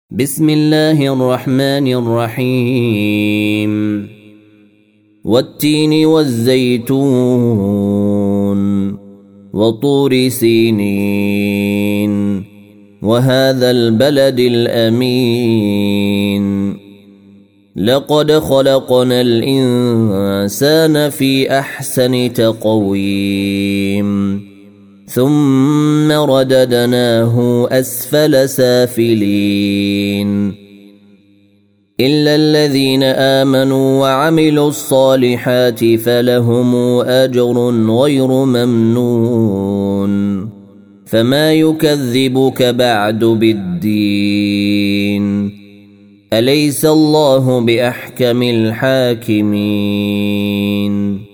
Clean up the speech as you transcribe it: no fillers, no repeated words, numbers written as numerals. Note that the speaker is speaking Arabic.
بسم الله الرحمن الرحيم والتين والزيتون وطور سينين وهذا البلد الأمين لقد خلقنا الإنسان في أحسن تقويم ثم رددناه أسفل سافلين إلا الذين آمنوا وعملوا الصالحات فلهم أجر غير ممنون فما يكذبك بعد بالدين أليس الله بأحكم الحاكمين